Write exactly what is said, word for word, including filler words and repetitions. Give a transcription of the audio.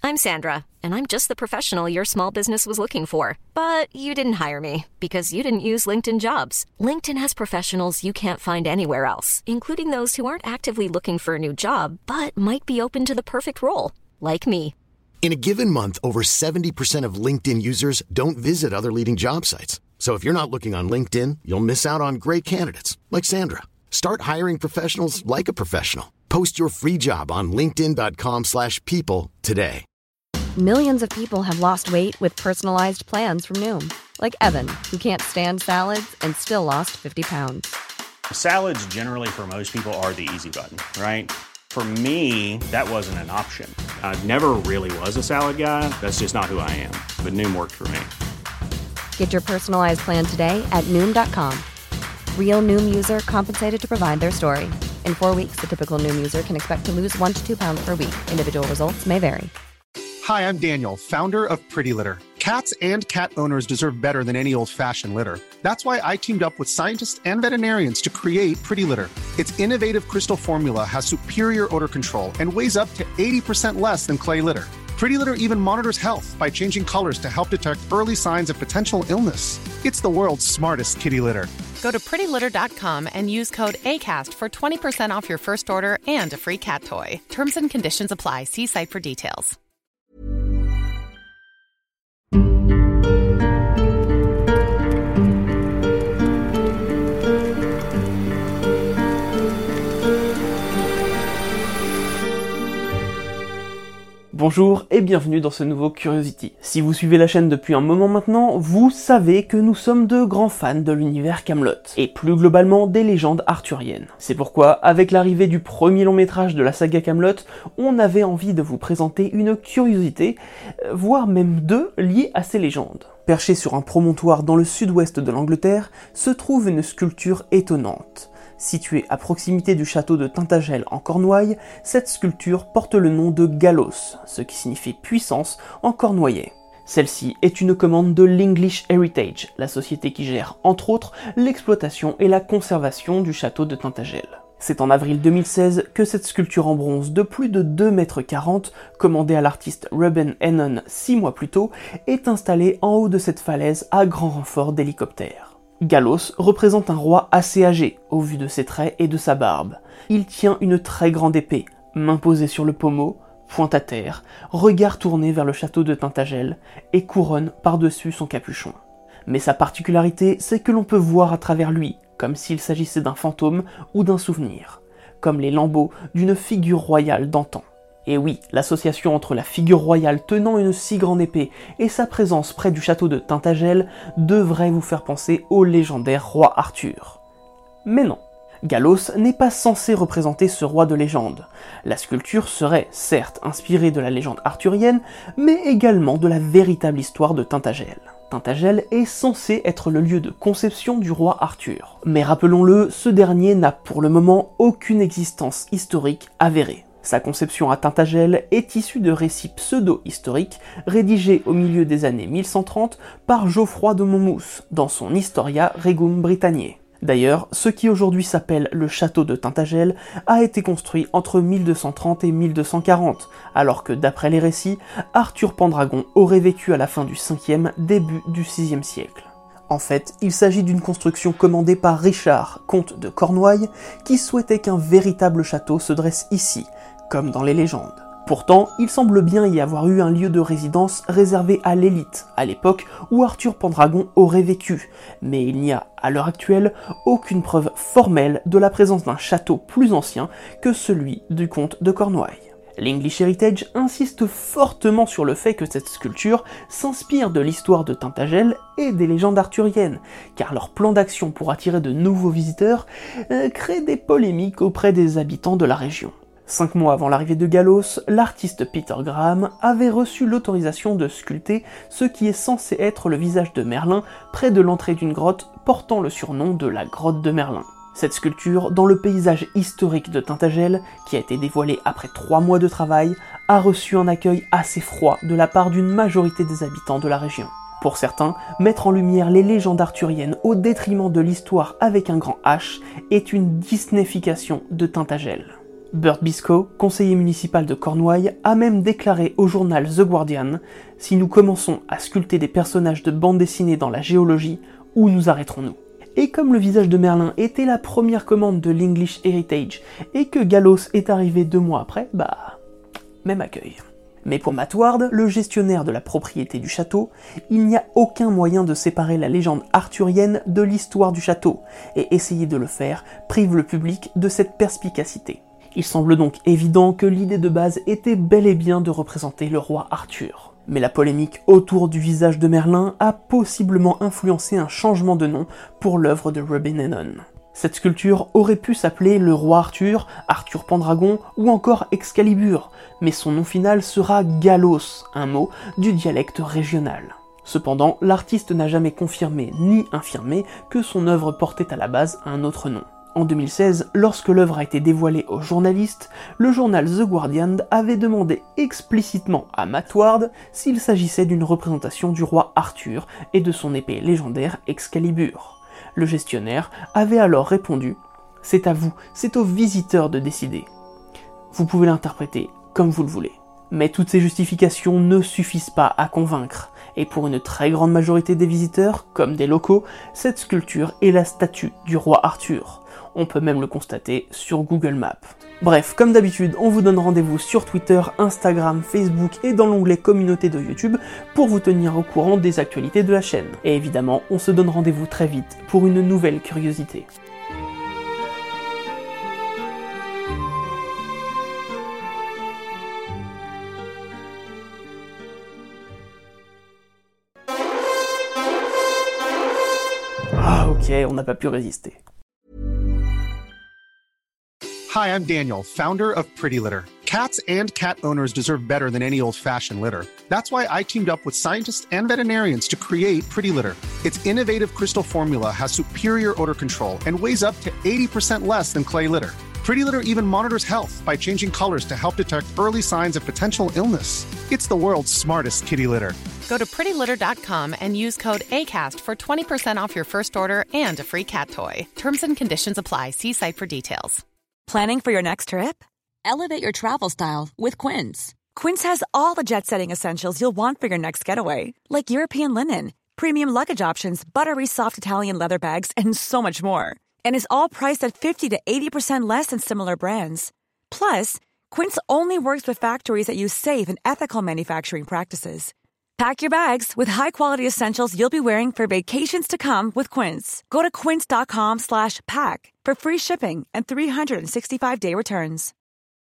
I'm Sandra, and I'm just the professional your small business was looking for. But you didn't hire me because you didn't use LinkedIn Jobs. LinkedIn has professionals you can't find anywhere else, including those who aren't actively looking for a new job, but might be open to the perfect role, like me. In a given month, over seventy percent of LinkedIn users don't visit other leading job sites. So if you're not looking on LinkedIn, you'll miss out on great candidates like Sandra. Start hiring professionals like a professional. Post your free job on linkedin.com slash people today. Millions of people have lost weight with personalized plans from Noom. Like Evan, who can't stand salads and still lost fifty pounds. Salads generally for most people are the easy button, right? For me, that wasn't an option. I never really was a salad guy. That's just not who I am. But Noom worked for me. Get your personalized plan today at Noom dot com. Real Noom user compensated to provide their story. In four weeks, the typical Noom user can expect to lose one to two pounds per week. Individual results may vary. Hi, I'm Daniel, founder of Pretty Litter. Cats and cat owners deserve better than any old-fashioned litter. That's why I teamed up with scientists and veterinarians to create Pretty Litter. Its innovative crystal formula has superior odor control and weighs up to eighty percent less than clay litter. Pretty Litter even monitors health by changing colors to help detect early signs of potential illness. It's the world's smartest kitty litter. Go to pretty litter dot com and use code ACAST for twenty percent off your first order and a free cat toy. Terms and conditions apply. See site for details. Bonjour et bienvenue dans ce nouveau Curiosity. Si vous suivez la chaîne depuis un moment maintenant, vous savez que nous sommes de grands fans de l'univers Camelot, et plus globalement des légendes arthuriennes. C'est pourquoi, avec l'arrivée du premier long métrage de la saga Camelot, on avait envie de vous présenter une curiosité, voire même deux, liées à ces légendes. Perchée sur un promontoire dans le sud-ouest de l'Angleterre, se trouve une sculpture étonnante. Située à proximité du château de Tintagel en Cornouailles, cette sculpture porte le nom de Galos, ce qui signifie puissance en cornouaillais. Celle-ci est une commande de l'English Heritage, la société qui gère, entre autres, l'exploitation et la conservation du château de Tintagel. C'est en avril deux mille seize que cette sculpture en bronze de plus de deux mètres quarante, commandée à l'artiste Ruben Hennon six mois plus tôt, est installée en haut de cette falaise à grand renfort d'hélicoptères. Galos représente un roi assez âgé, au vu de ses traits et de sa barbe. Il tient une très grande épée, main posée sur le pommeau, pointe à terre, regard tourné vers le château de Tintagel, et couronne par-dessus son capuchon. Mais sa particularité, c'est que l'on peut voir à travers lui, comme s'il s'agissait d'un fantôme ou d'un souvenir, comme les lambeaux d'une figure royale d'antan. Et oui, l'association entre la figure royale tenant une si grande épée et sa présence près du château de Tintagel devrait vous faire penser au légendaire roi Arthur. Mais non, Galos n'est pas censé représenter ce roi de légende. La sculpture serait certes inspirée de la légende arthurienne, mais également de la véritable histoire de Tintagel. Tintagel est censé être le lieu de conception du roi Arthur. Mais rappelons-le, ce dernier n'a pour le moment aucune existence historique avérée. Sa conception à Tintagel est issue de récits pseudo-historiques rédigés au milieu des années mille cent trente par Geoffroy de Monmouth dans son Historia Regum Britanniae. D'ailleurs, ce qui aujourd'hui s'appelle le château de Tintagel a été construit entre mille deux cent trente et mille deux cent quarante, alors que d'après les récits, Arthur Pendragon aurait vécu à la fin du cinquième, début du sixième siècle. En fait, il s'agit d'une construction commandée par Richard, comte de Cornouailles, qui souhaitait qu'un véritable château se dresse ici, comme dans les légendes. Pourtant, il semble bien y avoir eu un lieu de résidence réservé à l'élite, à l'époque où Arthur Pendragon aurait vécu, mais il n'y a, à l'heure actuelle, aucune preuve formelle de la présence d'un château plus ancien que celui du comte de Cornouailles. L'English Heritage insiste fortement sur le fait que cette sculpture s'inspire de l'histoire de Tintagel et des légendes arthuriennes, car leur plan d'action pour attirer de nouveaux visiteurs euh, crée des polémiques auprès des habitants de la région. Cinq mois avant l'arrivée de Galos, l'artiste Peter Graham avait reçu l'autorisation de sculpter ce qui est censé être le visage de Merlin près de l'entrée d'une grotte portant le surnom de la grotte de Merlin. Cette sculpture, dans le paysage historique de Tintagel, qui a été dévoilée après trois mois de travail, a reçu un accueil assez froid de la part d'une majorité des habitants de la région. Pour certains, mettre en lumière les légendes arthuriennes au détriment de l'histoire avec un grand H est une disneyfication de Tintagel. Bert Biscoe, conseiller municipal de Cornouailles, a même déclaré au journal The Guardian « Si nous commençons à sculpter des personnages de bande dessinée dans la géologie, où nous arrêterons-nous » Et comme le visage de Merlin était la première commande de l'English Heritage et que Gallos est arrivé deux mois après, bah... même accueil. Mais pour Matt Ward, le gestionnaire de la propriété du château, il n'y a aucun moyen de séparer la légende arthurienne de l'histoire du château, et essayer de le faire prive le public de cette perspicacité. Il semble donc évident que l'idée de base était bel et bien de représenter le roi Arthur. Mais la polémique autour du visage de Merlin a possiblement influencé un changement de nom pour l'œuvre de Robin Hannon. Cette sculpture aurait pu s'appeler le roi Arthur, Arthur Pendragon ou encore Excalibur, mais son nom final sera Gallos, un mot du dialecte régional. Cependant, l'artiste n'a jamais confirmé ni infirmé que son œuvre portait à la base un autre nom. En deux mille seize, lorsque l'œuvre a été dévoilée aux journalistes, le journal The Guardian avait demandé explicitement à Matt Ward s'il s'agissait d'une représentation du roi Arthur et de son épée légendaire Excalibur. Le gestionnaire avait alors répondu « C'est à vous, c'est aux visiteurs de décider. Vous pouvez l'interpréter comme vous le voulez. » Mais toutes ces justifications ne suffisent pas à convaincre, et pour une très grande majorité des visiteurs, comme des locaux, cette sculpture est la statue du roi Arthur. On peut même le constater sur Google Maps. Bref, comme d'habitude, on vous donne rendez-vous sur Twitter, Instagram, Facebook et dans l'onglet communauté de YouTube pour vous tenir au courant des actualités de la chaîne. Et évidemment, on se donne rendez-vous très vite pour une nouvelle curiosité. Ah ok, on n'a pas pu résister. Hi, I'm Daniel, founder of Pretty Litter. Cats and cat owners deserve better than any old-fashioned litter. That's why I teamed up with scientists and veterinarians to create Pretty Litter. Its innovative crystal formula has superior odor control and weighs up to eighty percent less than clay litter. Pretty Litter even monitors health by changing colors to help detect early signs of potential illness. It's the world's smartest kitty litter. Go to pretty litter dot com and use code ACAST for twenty percent off your first order and a free cat toy. Terms and conditions apply. See site for details. Planning for your next trip? Elevate your travel style with Quince. Quince has all the jet-setting essentials you'll want for your next getaway, like European linen, premium luggage options, buttery soft Italian leather bags, and so much more. And is all priced at fifty to eighty percent less than similar brands. Plus, Quince only works with factories that use safe and ethical manufacturing practices. Pack your bags with high-quality essentials you'll be wearing for vacations to come with Quince. Go to quince dot com slash pack for free shipping and three sixty-five day returns.